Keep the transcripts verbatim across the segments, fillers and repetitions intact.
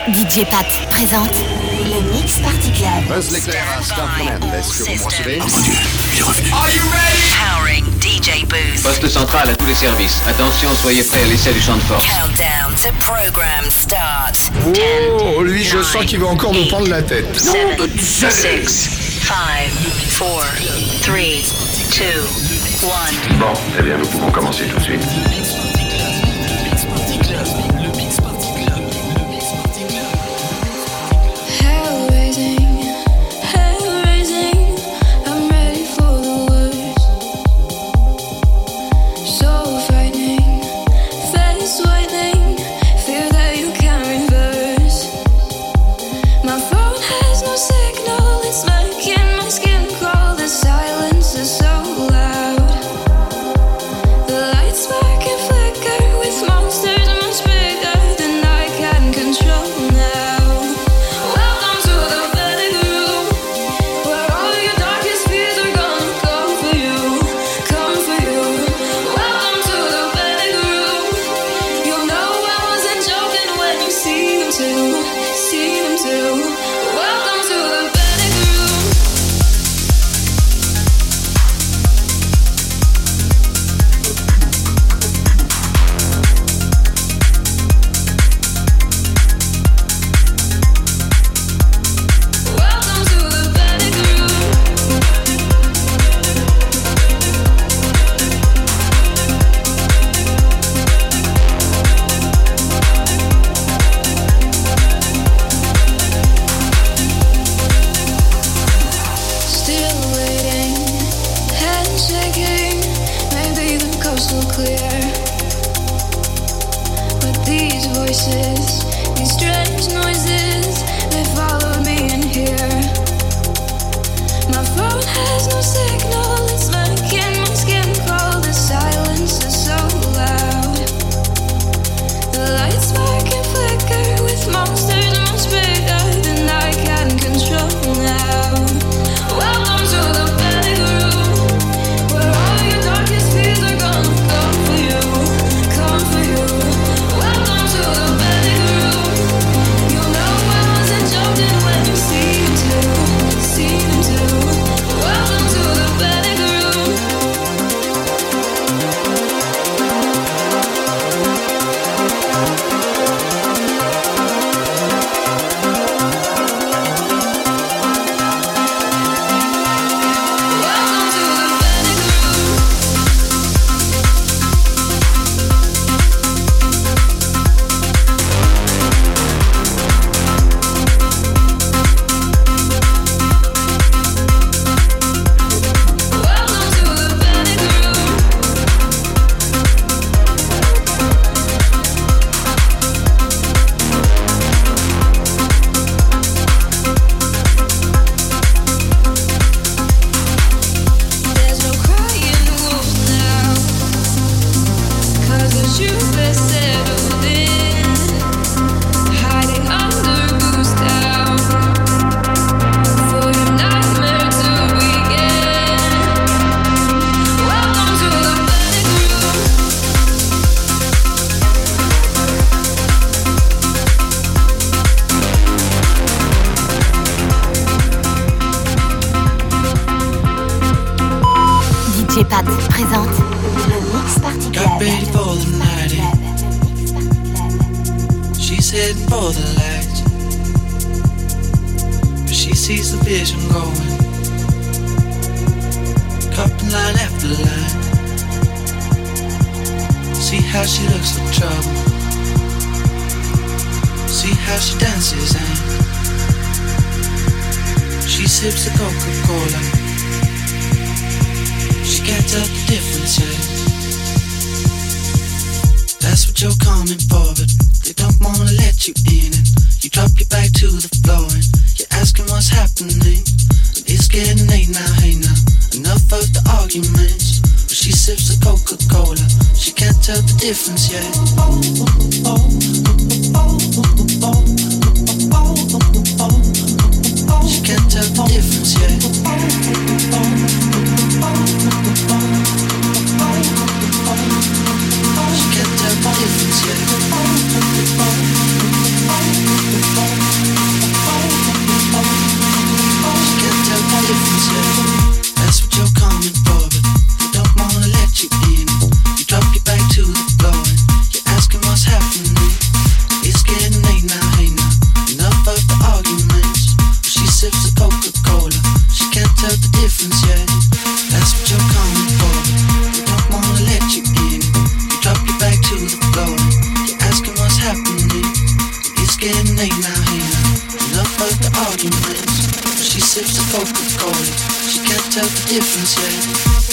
D J Pat présente le Mix Party Club. Buzz l'éclair à Star Command, est-ce que vous me recevez? Oh mon Dieu, il est revenu. Are you ready? Powering D J Booth. Poste central à tous les services. Attention, soyez prêts à l'essai du champ de force. Countdown to program start. Oh, lui, je sens qu'il va encore nous prendre la tête. seven, six, five, four, three, two, one. Bon, eh bien, nous pouvons commencer tout de suite. D J Pat présente le Mix Party Club. Got ready for the night. She's heading for the light, but she sees the vision going, cupping line after line. See how she looks for trouble, see how she dances and she sips the Coca-Cola. She can't tell the difference yet. That's what you're coming for, but they don't wanna let you in. And you drop your back to the floor and you're asking what's happening. It's getting late now, hey now, enough of the arguments. But she sips the Coca-Cola, she can't tell the difference yet. She can't tell the difference yet. She can't tell the difference yet. getting late now, hey now. Enough of the arguments. She sips the Coca-Cola. She can't tell the difference yet.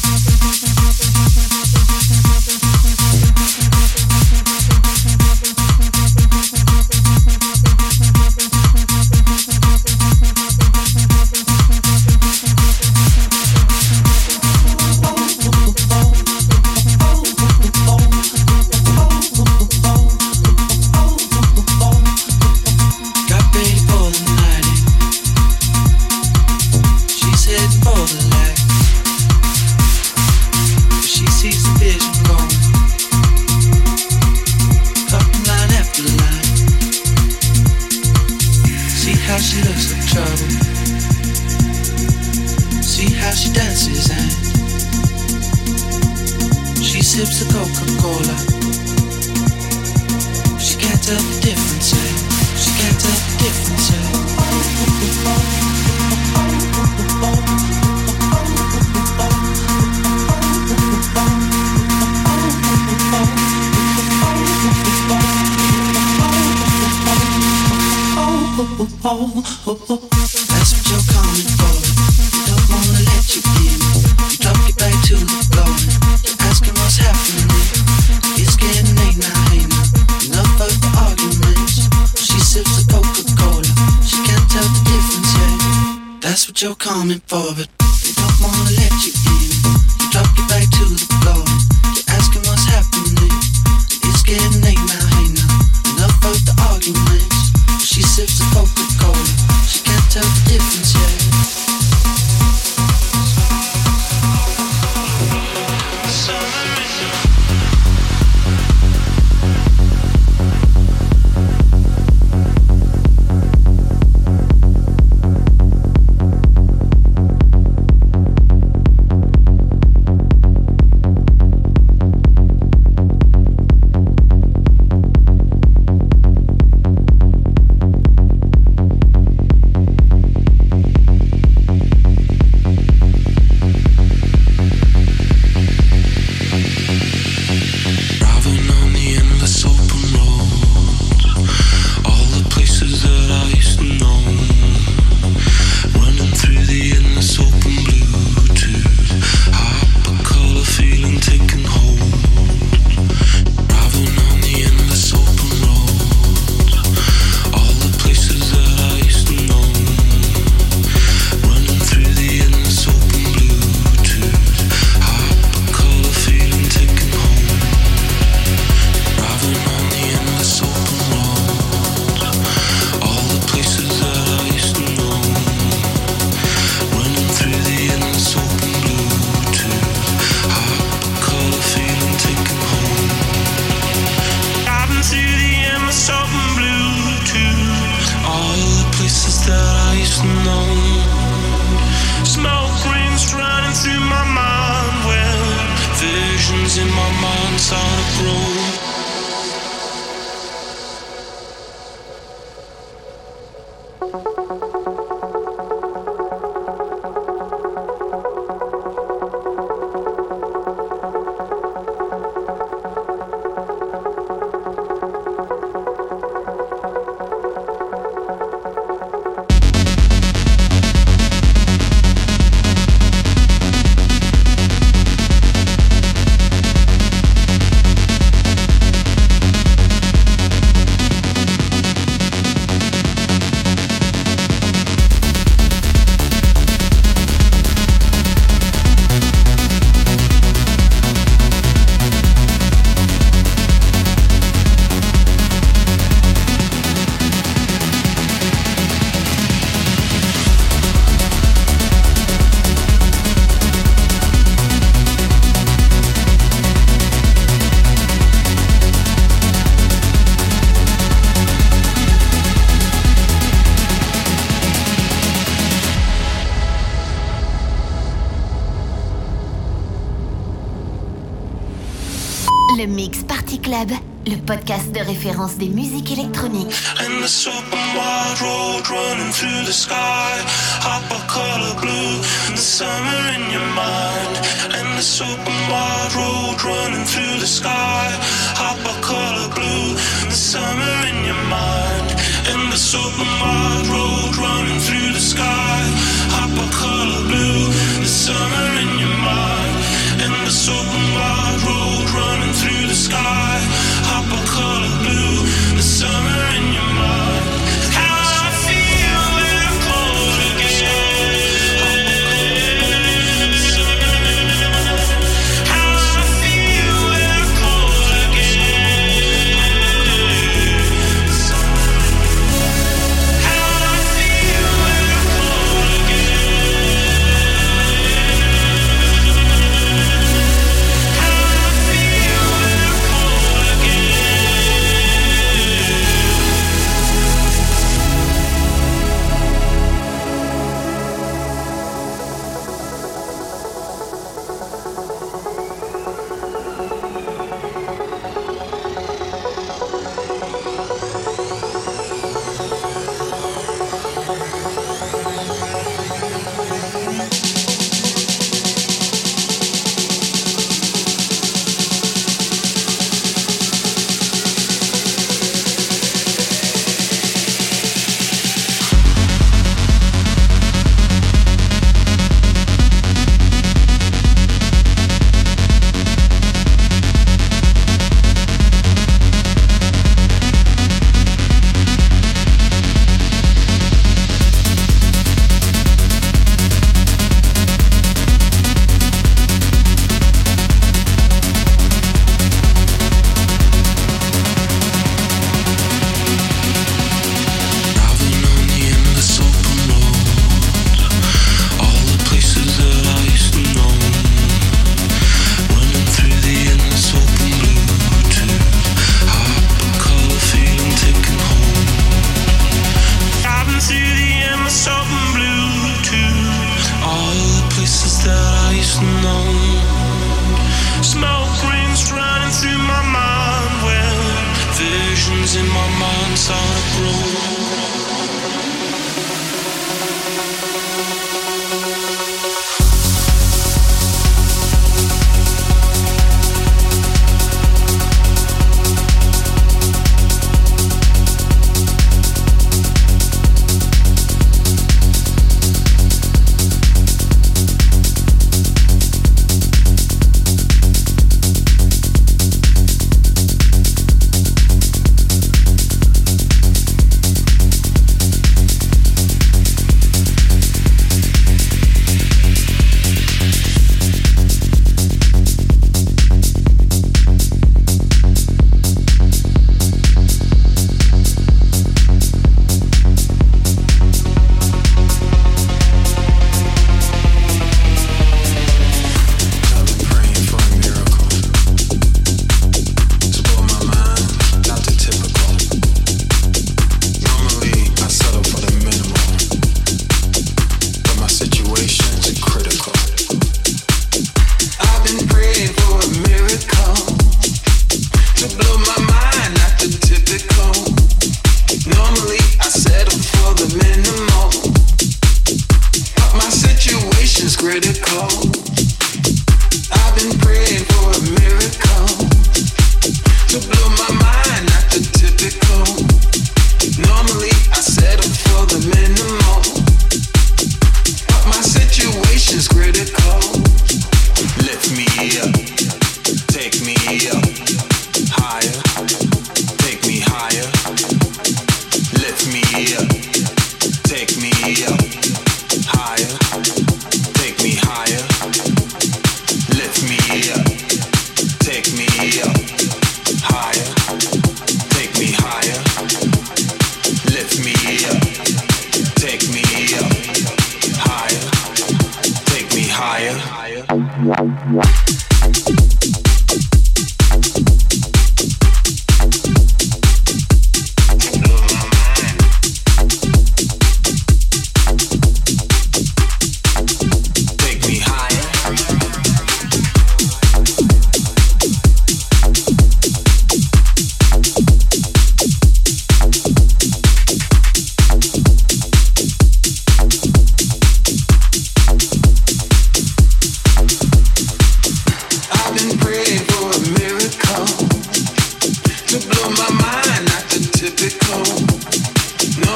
You're coming for, but they don't wanna let you in. You drop your back to the floor. You're asking what's happening. It's getting late now, hey now. Enough of the arguments. She sips the Coca-Cola. She can't tell the difference yet. Le Mix Party Club, le podcast de référence des musiques électroniques. And the super wide road running through the sky, hopper color blue, and the summer in your mind. And the super wide road running through the sky, hopper color blue, and the summer in your mind. this open wide road running through the sky. Hypercolor blue, the summer in your mind. And this open wide road running through the sky. Hypercolor blue, the summer in your mind. How I feel when I'm cold again. How I feel when I'm cold again. How I feel when I'm cold again. How I feel when I'm cold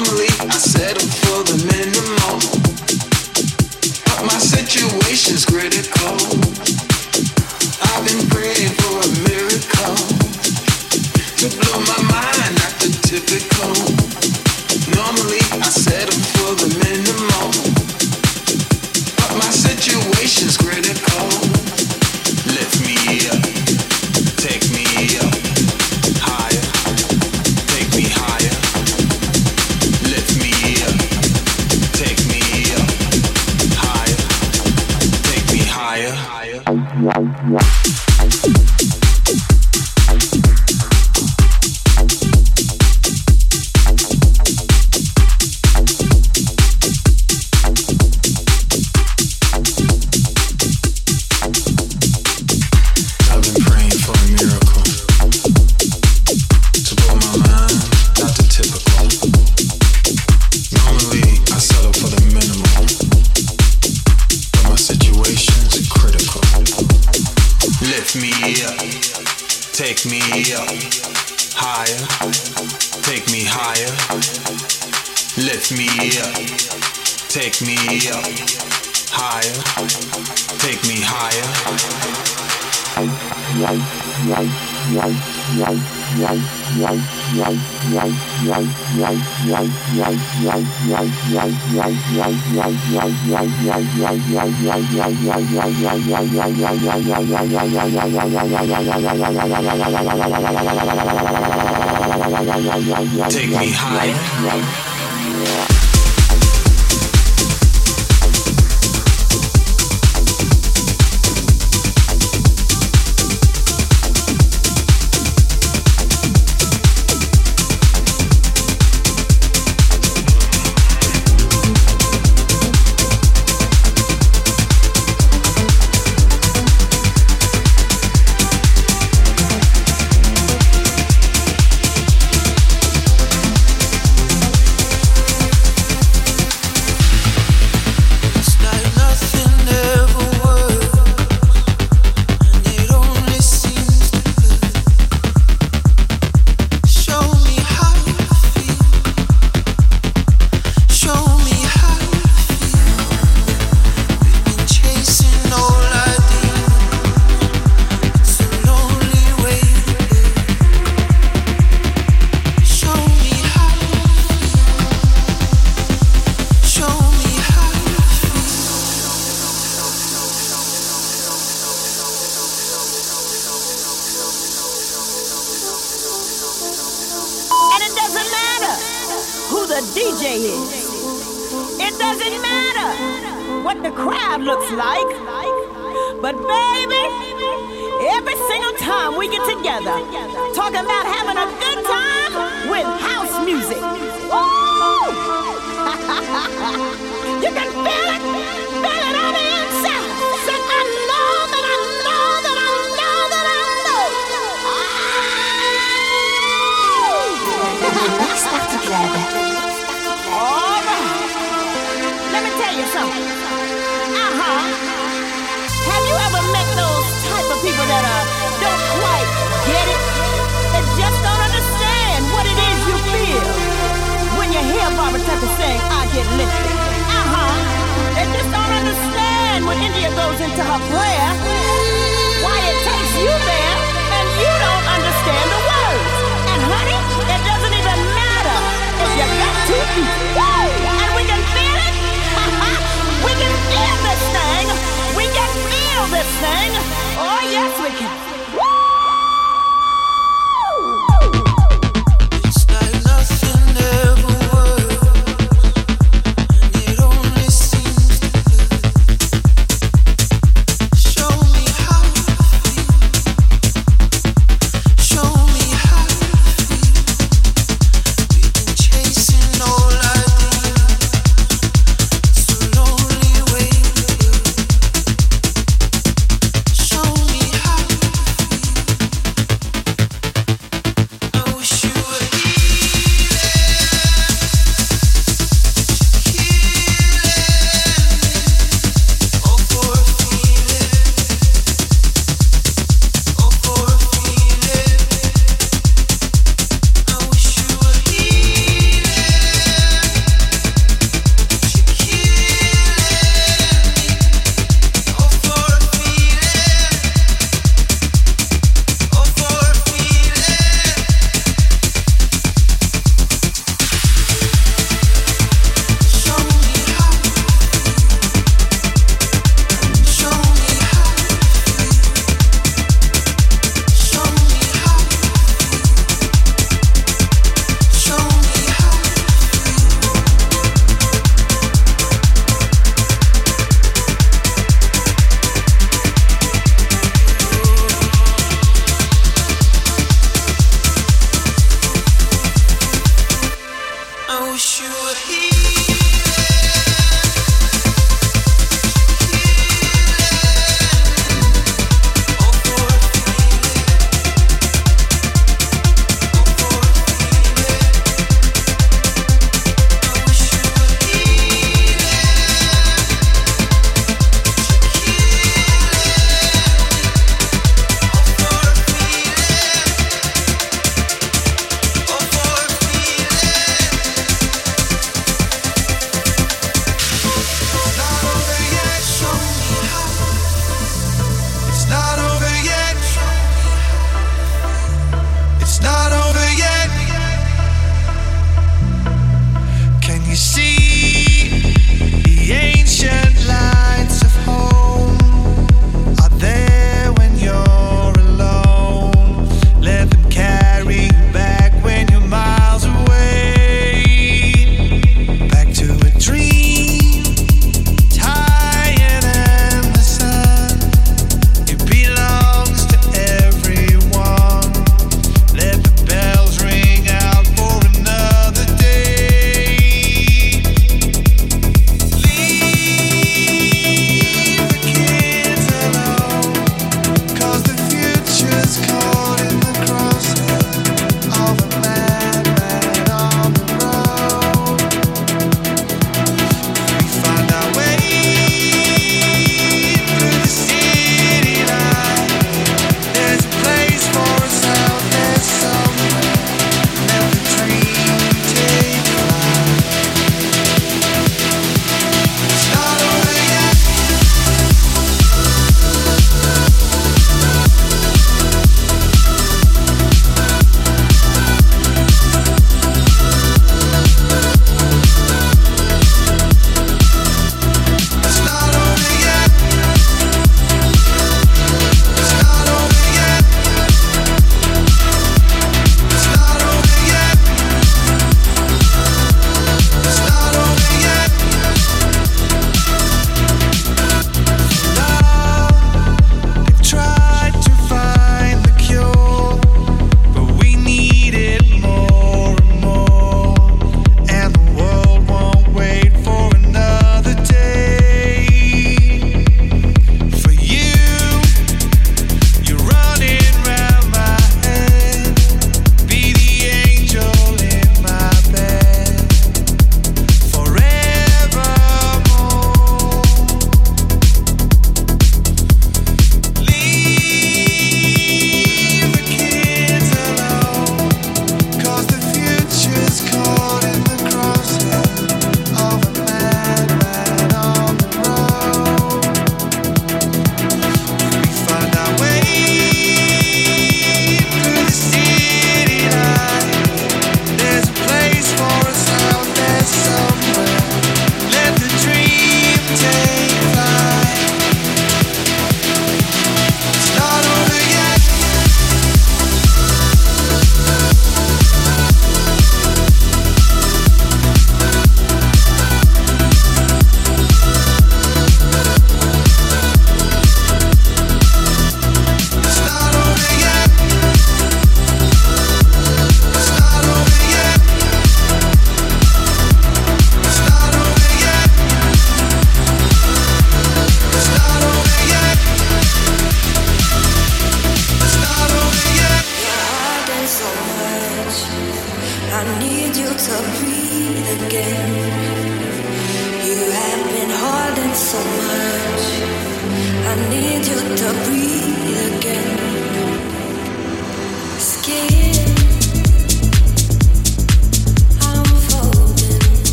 Normally I settle for the minimum, but my situation's critical. I've been praying for a miracle to blow my mind, not the typical. Normally I settle for the minimum, but my situation's critical. Lift me up, take me up, higher, take me higher. Lift me up, take me up, higher, take me higher. Take me up, higher, take me higher. Lift me up, take me up, higher, take me higher. Take me high. Just don't understand what it is you feel.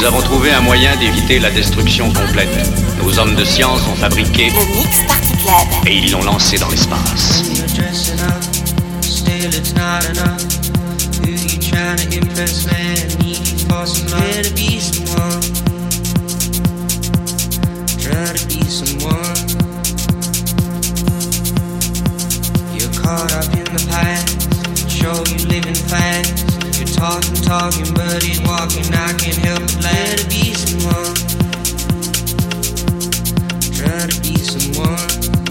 Nous avons trouvé un moyen d'éviter la destruction complète. Nos hommes de science ont fabriqué Le Mix Party Club. et ils l'ont lancé dans l'espace. Caught up in the past, show you living fast. You're talking, talking, but ain't walking. I can't help but let it be someone. Try to be someone.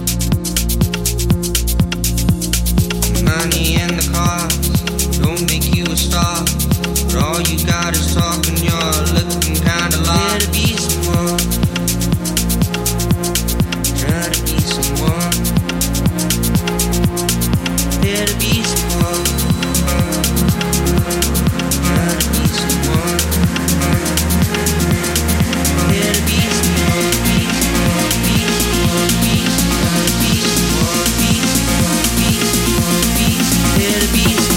Money and the cars don't make you a star, but all you got is talking. You're looking kinda lost. Let it be someone. Try to be someone. There to be someone, try to be someone, there to be someone, be someone, be someone, be someone, be someone, be someone, be someone, there to be someone.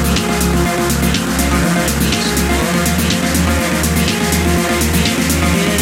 Yeah.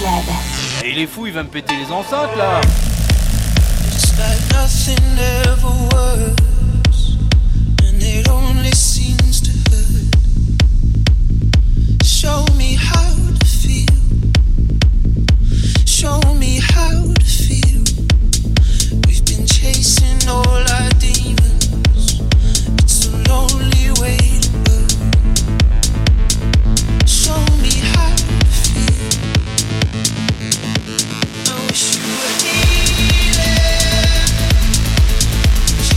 Club. Et il est fou, il va me péter les enceintes là. It's like nothing ever was, and it only seems to hurt. Show me how to feel. Show me how to feel. We've been chasing all our demons. It's a lonely way to go. Show me how to feel. I wish you were here.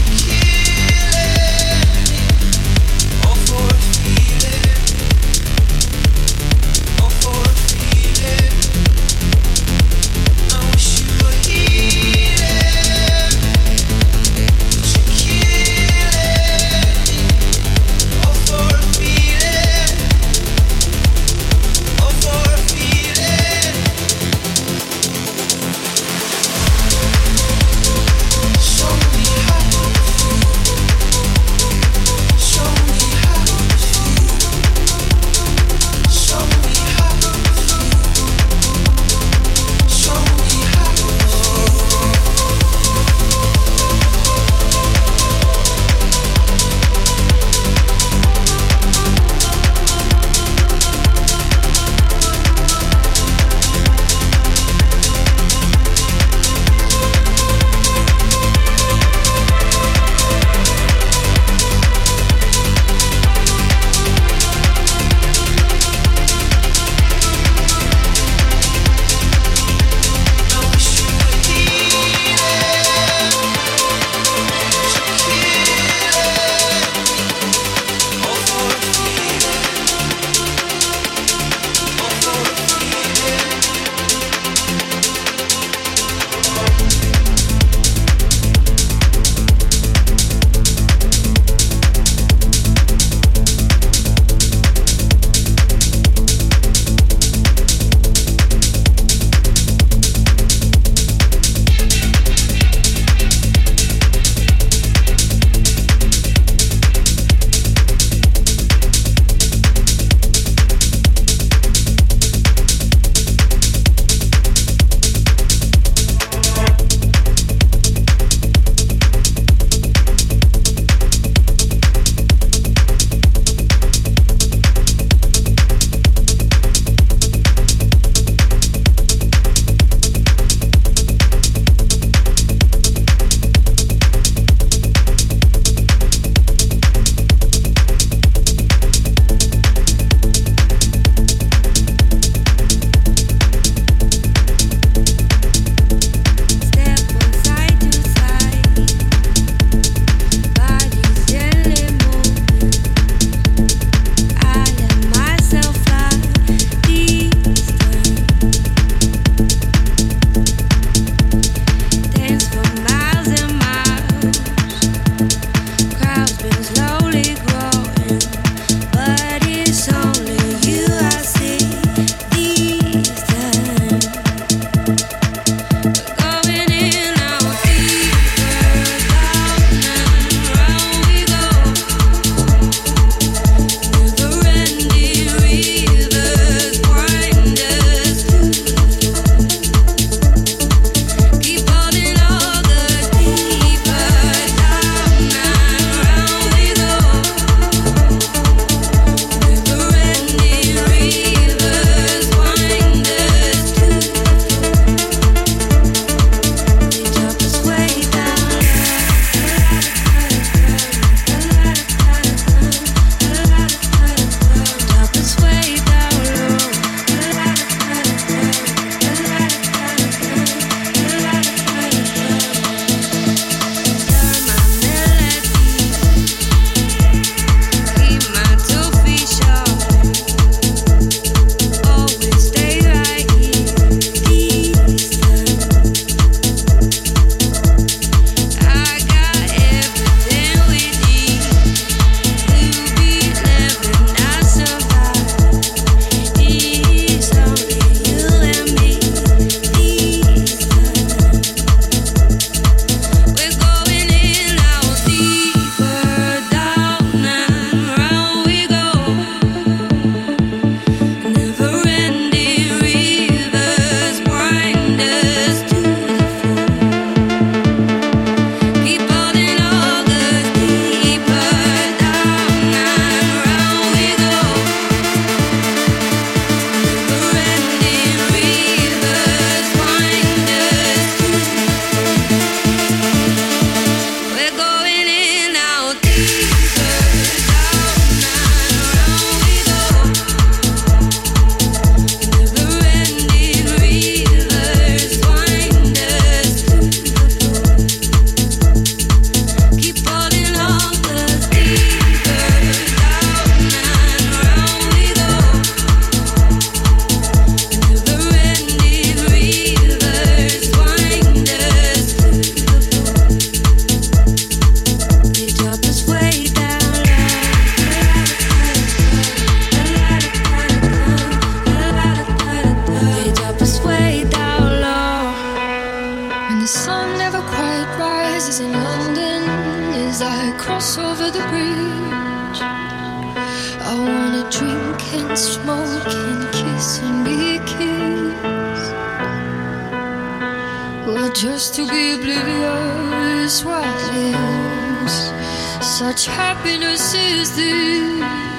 Just to be oblivious what lives. Such happiness is this,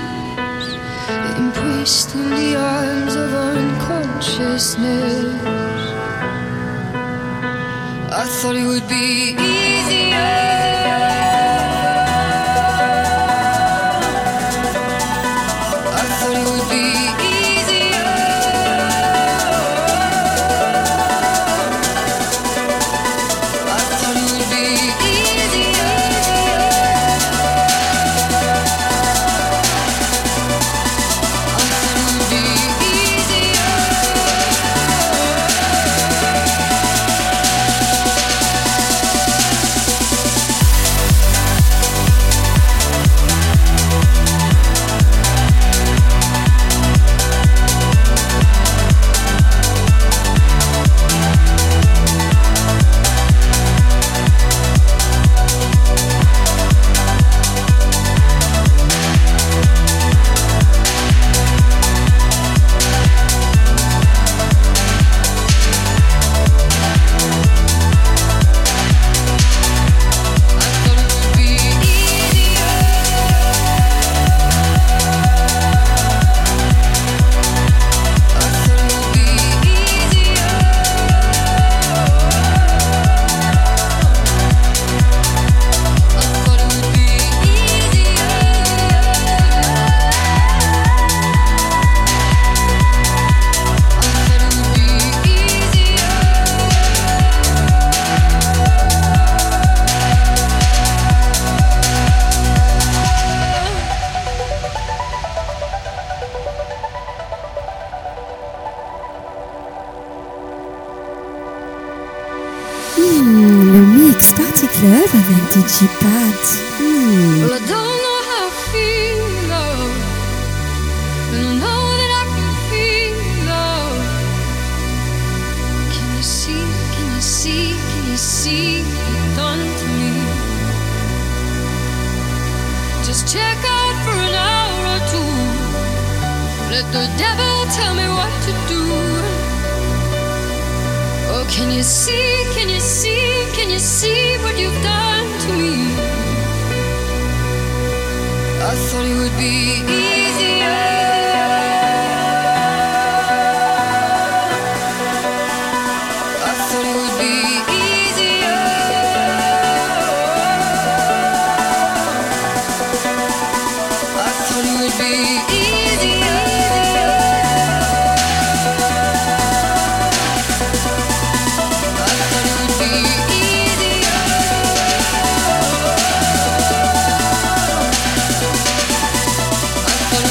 embraced in the arms of unconsciousness. I thought it would be easier. Party Club avec D J Pat. Mm. Well, I don't know how I feel, love, but I know that I can feel love. Can you see, can you see, can you see what you've done to me? Just check out for an hour or two. Let the devil tell me what to do. Oh, can you see, can you see, can you see what you've done to me? I thought it would be easier. I thought it would be easier. I thought it would be easier. I thought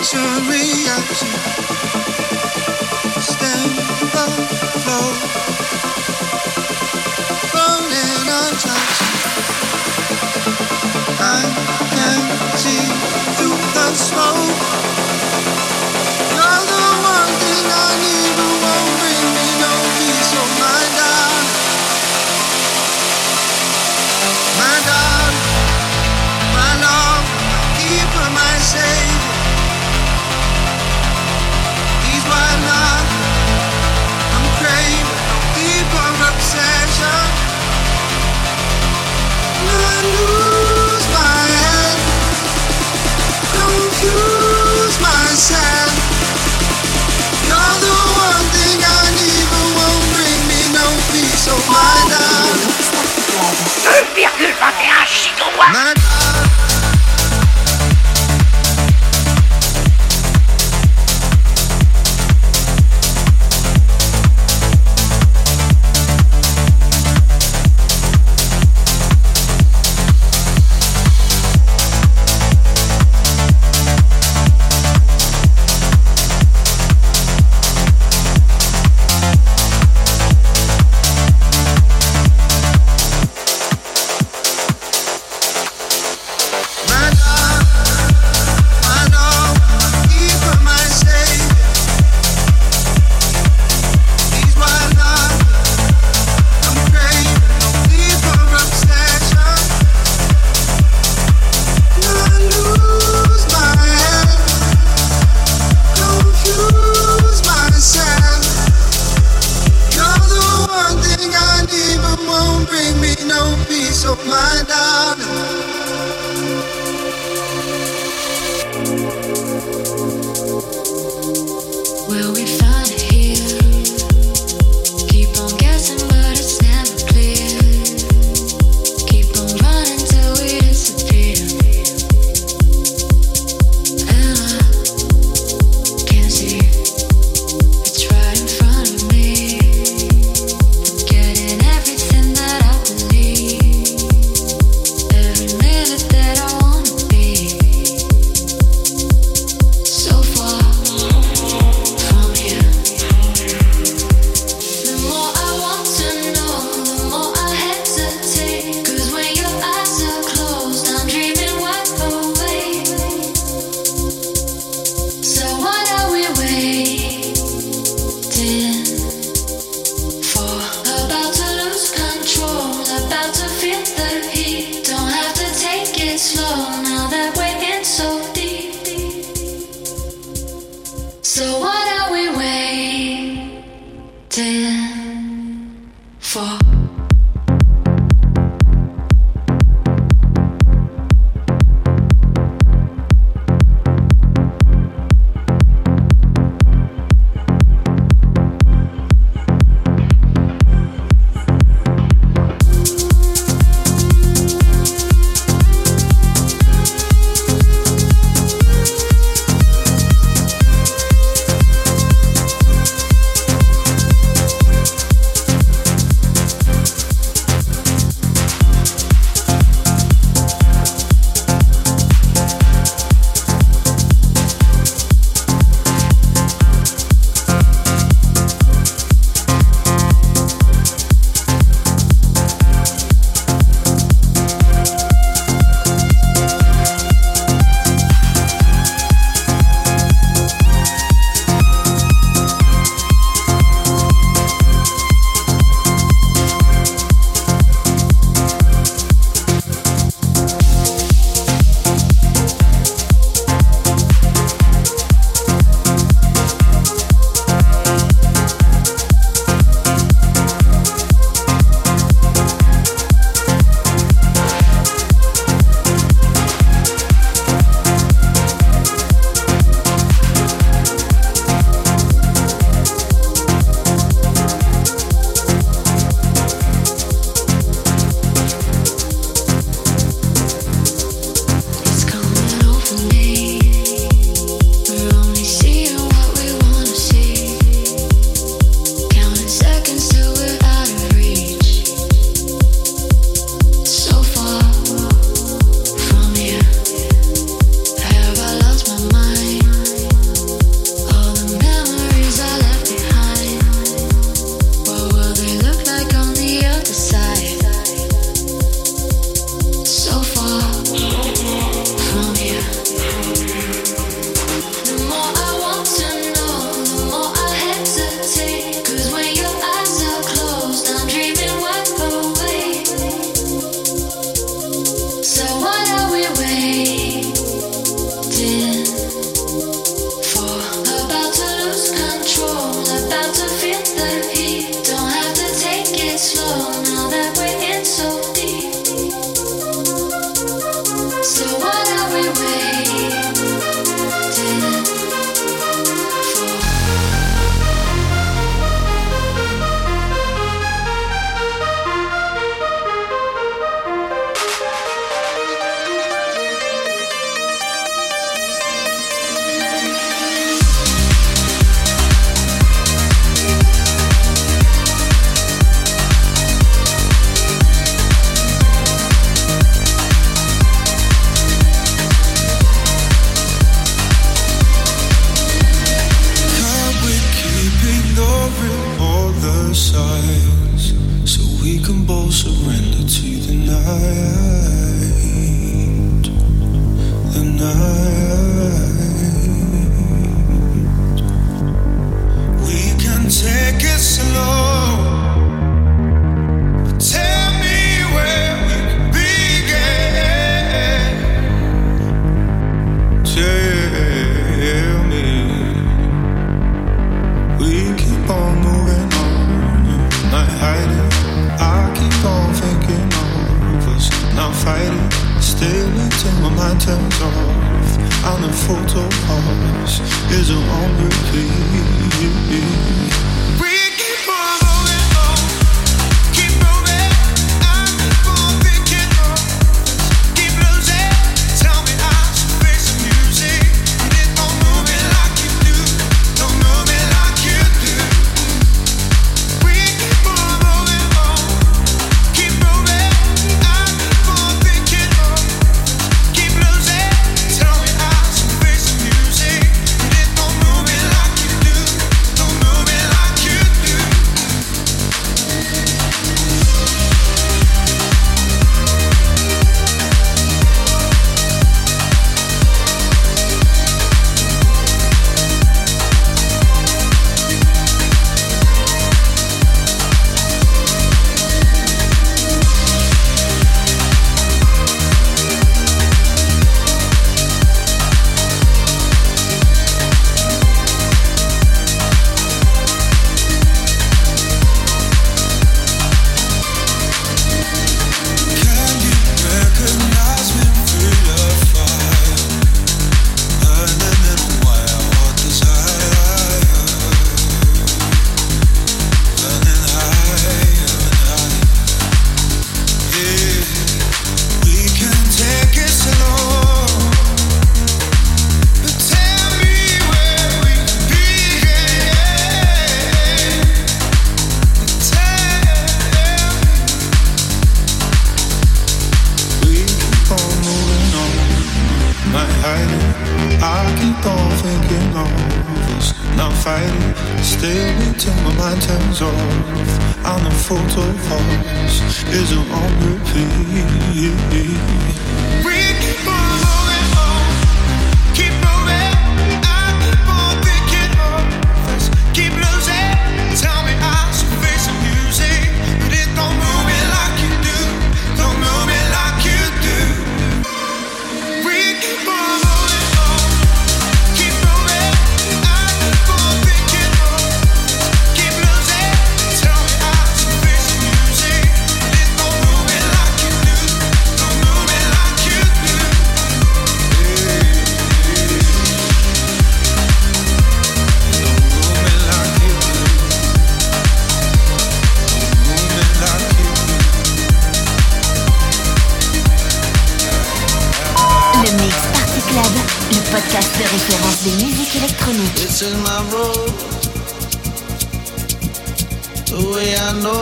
Instant reaction. Stand the flow. Rolling untouched. I can see through the smoke. You're the one thing I need, but won't bring me no peace of mind. Darling, my darling, my love, keeper, my savior. He's my love. I'm craving no deeper obsession. I lose my head, confuse myself. You're the one thing I need, but won't bring me no peace of mind. deux virgule vingt et un gigawatts. sides, so we can both surrender to the night, the night. We can take it slow, but tell me where we begin. Tell me. We keep on moving on, not hiding. I keep on thinking of us, not fighting. Still until my mind turns off. I'm a photo pause, is it on repeat? We keep on moving on, keep moving. I keep on thinking of us, keep losing. Tell me I should face the music, but it don't move me like you do. Don't move me like you do. We keep on moving on, keep moving. I keep on thinking of us, keep losing. Tell me I should face the music, but it don't move me like you do. Don't move me like you do. Can you recognize me? Feel the fire burning in my heart, desire burning higher and higher. Yeah, we can take it slow, but tell me where we begin. Tell me. We keep on moving on, not hiding. I keep on thinking of us, not fighting. Still until my mind turns off. I'm a photo pause, is it on repeat? We keep on moving on, keep moving. I keep on thinking of us, keep losing. Tell me I should face the music, but it don't move me like you do. Don't move me like you do. We keep on moving on, keep moving. I keep on thinking of us, keep losing. Tell me I should face the music, but it don't move me like you do. Don't move me like you do. Don't move me like you do. Don't move me like you do. Le Mix Party Club, le podcast de référence des musiques électroniques. This is my road, the way I know.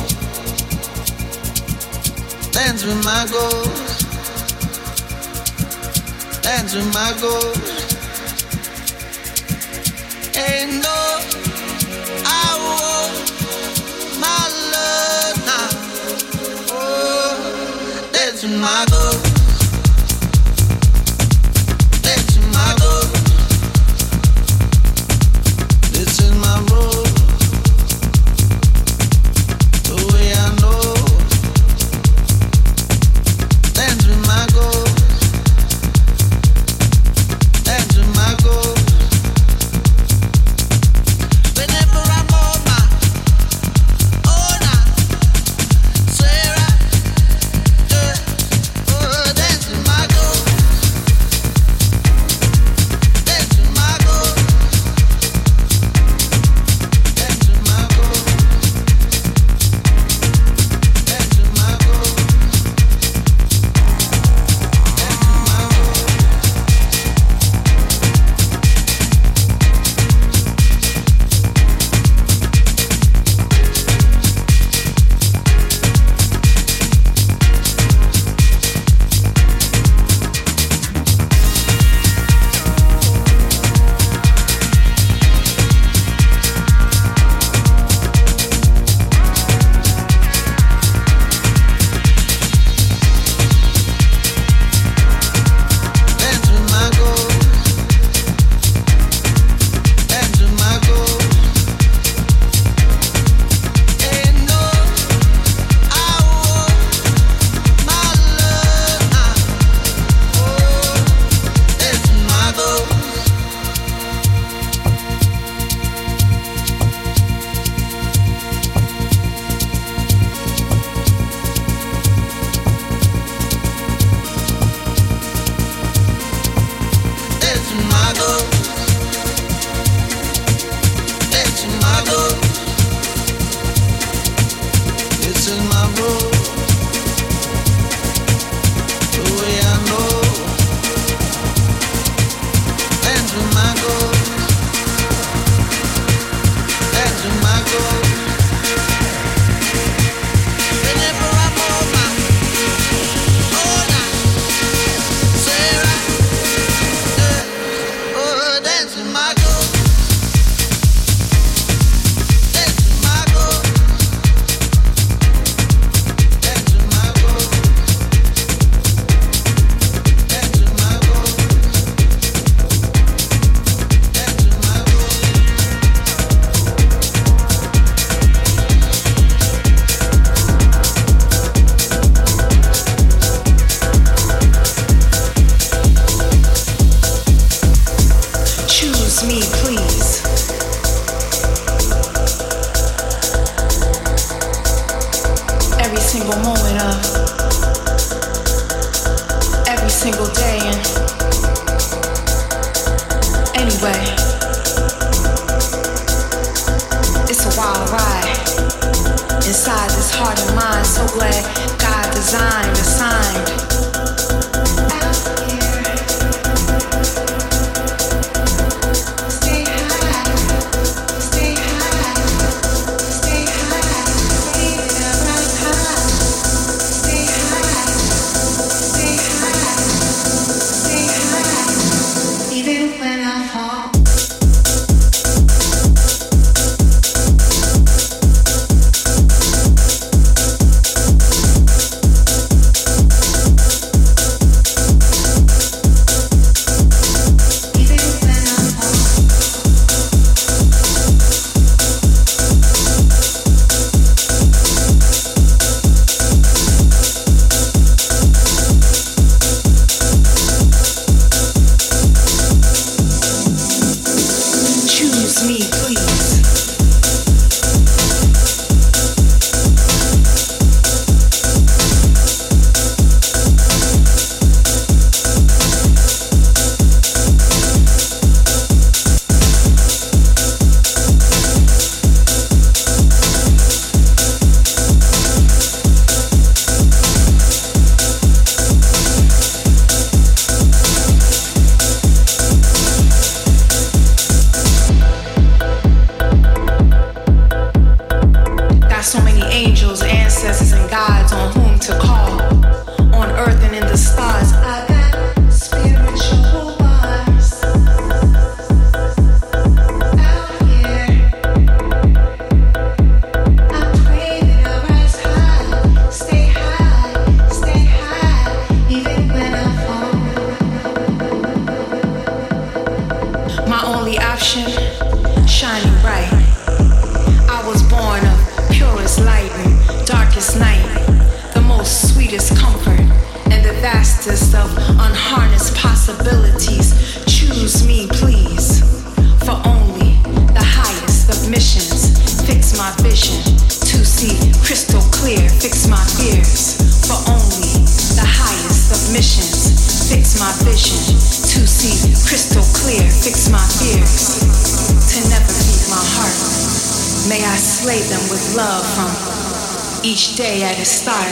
Dance with my goals, dance with my goals. Ain't no, I want my love now. Oh, dance with my goals. Dance with my goals. This is my road, the way I know. Dance with my goals, dance with my goals. Whenever I'm on my own, I swear I, yeah, designed, assigned. Each day at its start,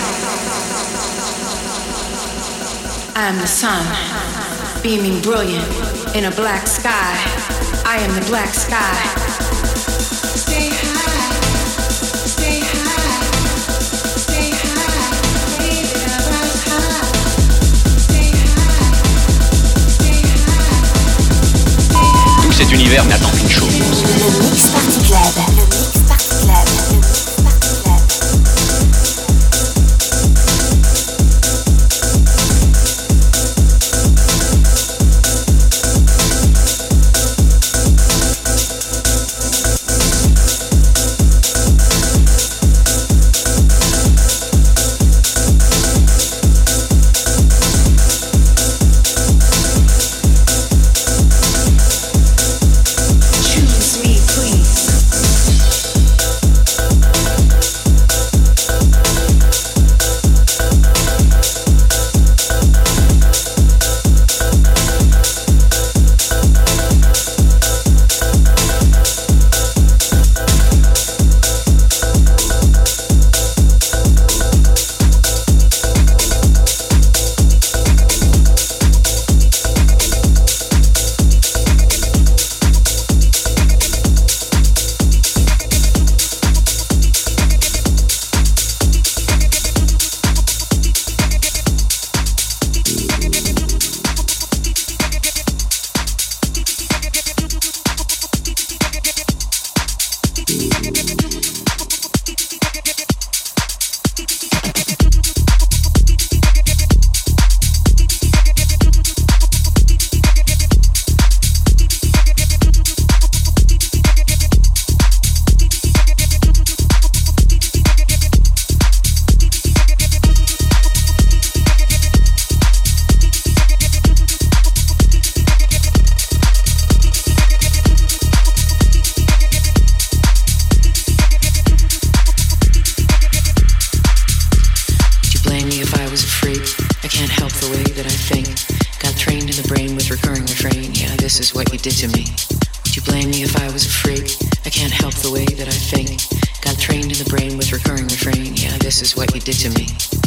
I am the sun, beaming brilliant in a black sky. I am the black sky. Stay high, stay high, stay high, baby, I rise high. Stay high, stay high, stay high. Tout cet univers n'attend qu'une chose. Le Mix Party Club. Le Mix Party Club. Le Mix this is what you did to me. Would you blame me if I was a freak? I can't help the way that I think. Got trained in the brain with recurring refrain. Yeah, this is what you did to me.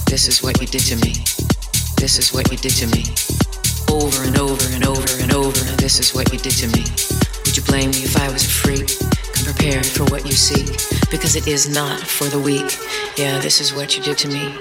This is what you did to me. This is what you did to me. Over and over and over and over. This is what you did to me. Would you blame me if I was a freak? Come prepared for what you seek, because it is not for the weak. Yeah, this is what you did to me.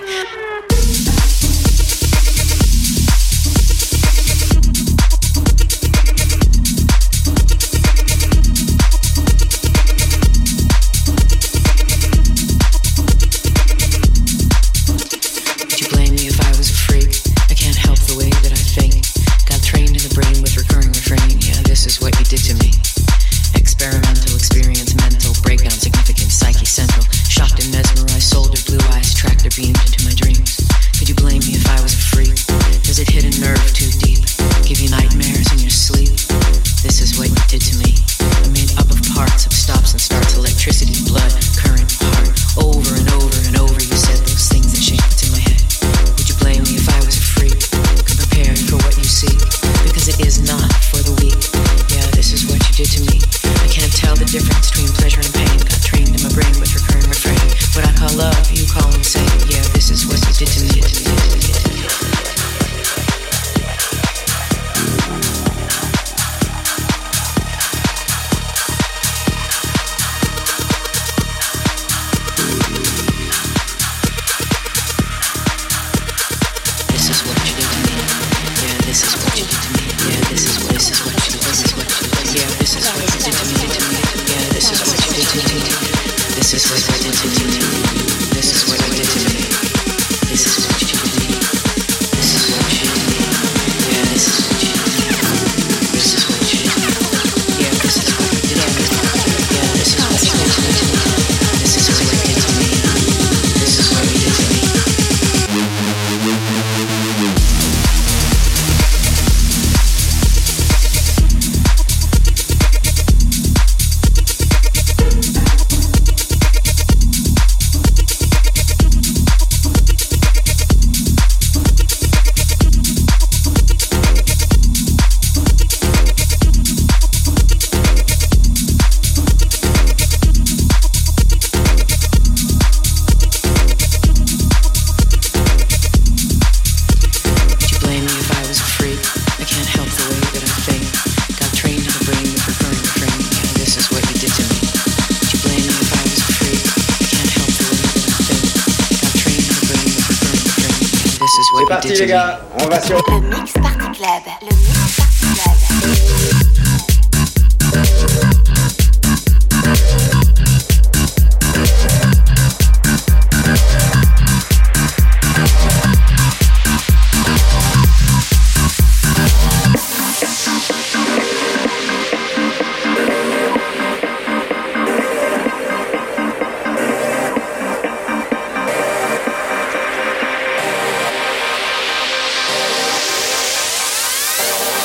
C'est parti les gars, on va sur le Mix Party Club. Le Mix Party Club. We'll be right back.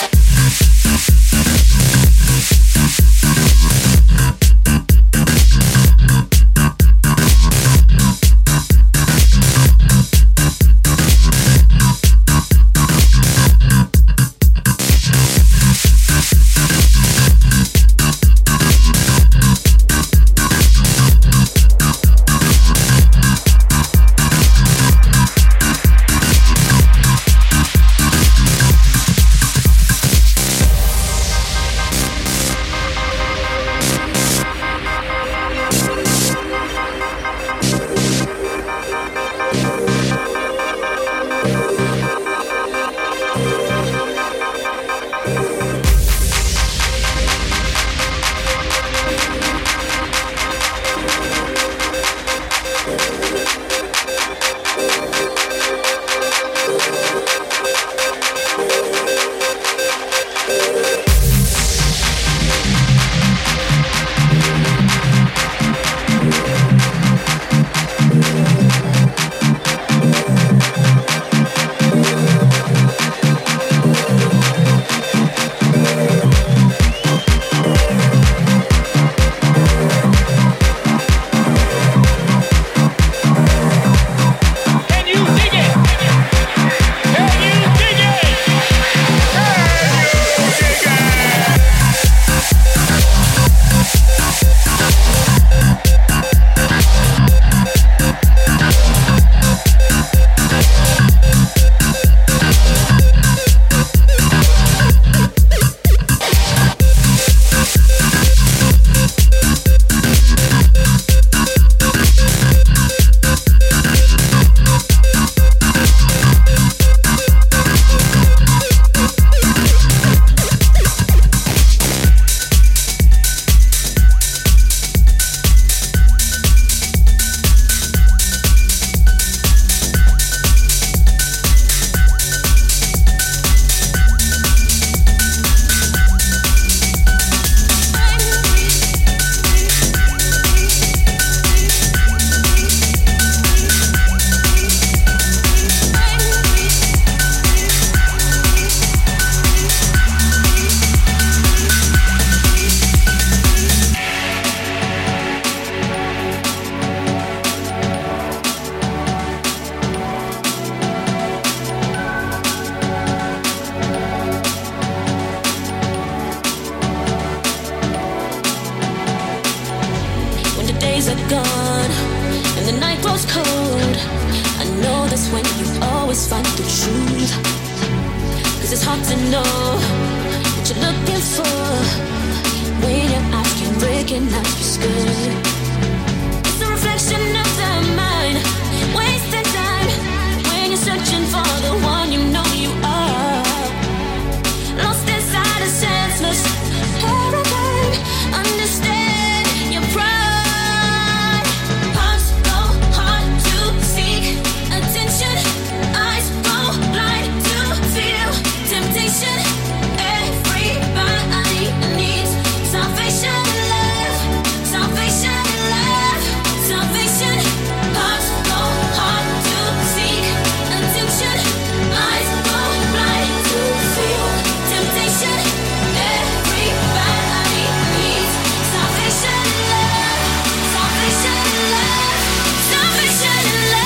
days are gone and the night grows cold, I know that's when you always find the truth. Cause it's hard to know what you're looking for when your eyes can recognize what's good. It's a reflection of the mind, wasting time when you're searching for the one you know you are. Lost inside a senseless paradigm. Understand your pride. Hearts go hard to seek attention. Eyes go blind to feel temptation. Everybody needs salvation and love. Salvation and love. Salvation. Hearts go hard to seek attention. Eyes go blind to feel temptation. Everybody needs salvation and love. Salvation and love. Salvation and love.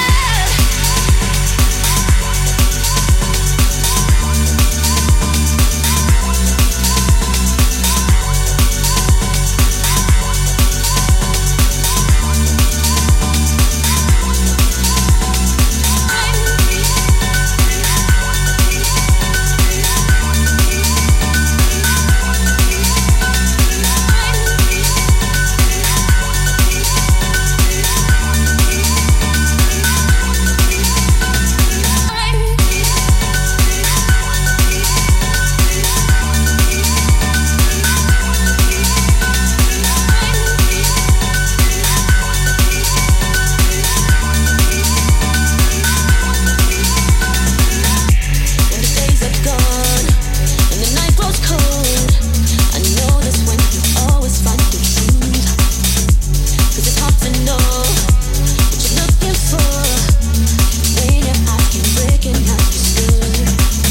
When the days are gone and the night grows cold, I know that's when you always find the truth. Cause it's hard to know what you're looking for when your eyes can recognize what's good.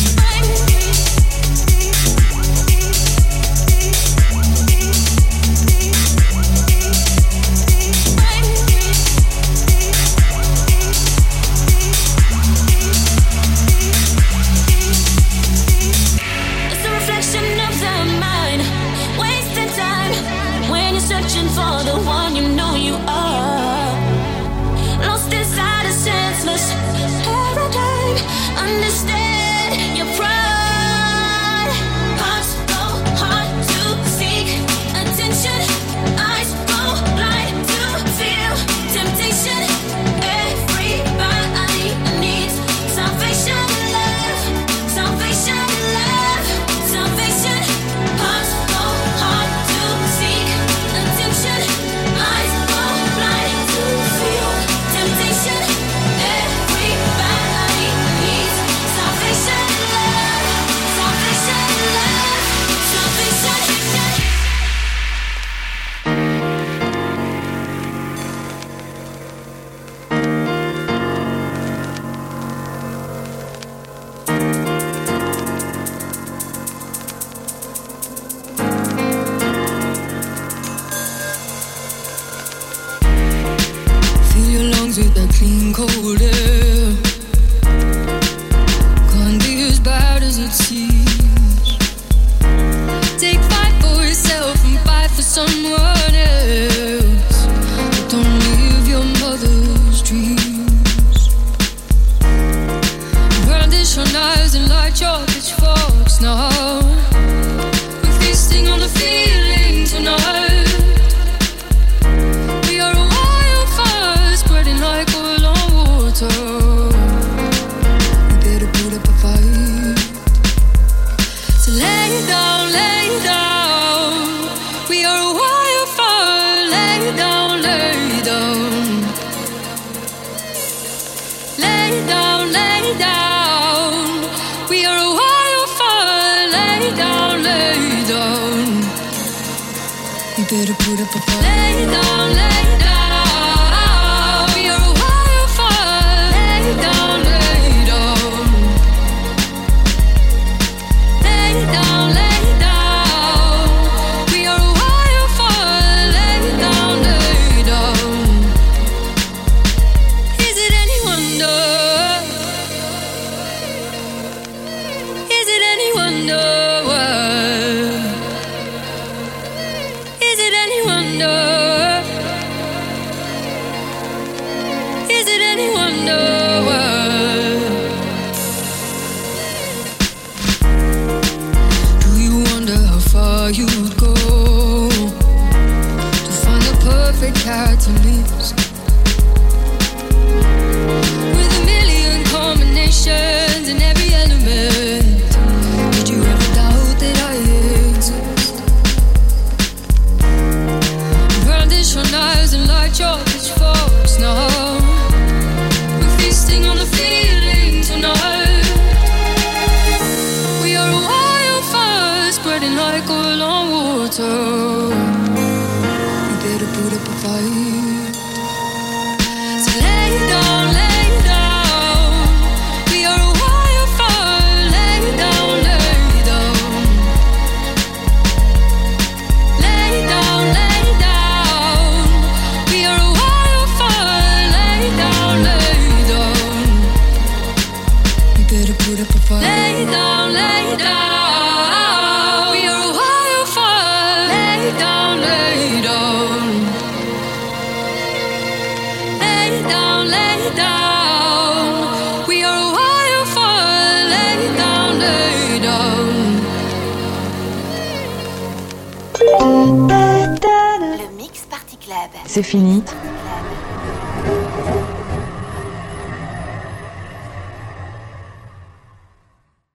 It's a reflection of the mind, wasting time when you're searching for the one you know you are. Lost inside a senseless paradigm. Understand your pride. Hearts go hard to seek attention. Eyes go blind to feel temptation. Everybody needs salvation and love. Salvation and love. Salvation. Hearts go hard to seek attention. Eyes go blind to feel temptation. Everybody needs salvation and love. Salvation and love. Salvation. Fill your lungs with that clean, cold air. Can't be as bad as it seems. Take fight for yourself and fight for someone else. But don't live your mother's dreams. Brandish your knives and light your pitchforks now. We're feasting on the feeling tonight. We are a wildfire spreading like oil on water. We better put up a fight. So lay down, lay down. We are a wildfire. Lay down, lay down. Lay down, lay down. We are a wildfire. Lay down, lay down. We better put up a fight. Lay down, lay down. We are a wildfire. Lay down, lay down. Lay down, lay down. We are a wildfire. Lay down, lay down. Is it any wonder? Is it any wonder? Is it any wonder? catalyst. With a million combinations in every element. Did you ever doubt that I exist? Brandish your knives and light your pitchforks now. We're feasting on the feeling tonight. We are a wildfire spreading like oil on water. We better put up a fight. So lay down, lay down. We are a wildfire. Lay down, lay down. Lay down, lay down. We are a wildfire. Lay down, lay down. We better put up a fight. Lay down, lay down. We are a wildfire. Lay down, lay down. Lay down, lay down. We are a wildfire. Lay down, lay down. Le Mix Party Club. C'est fini,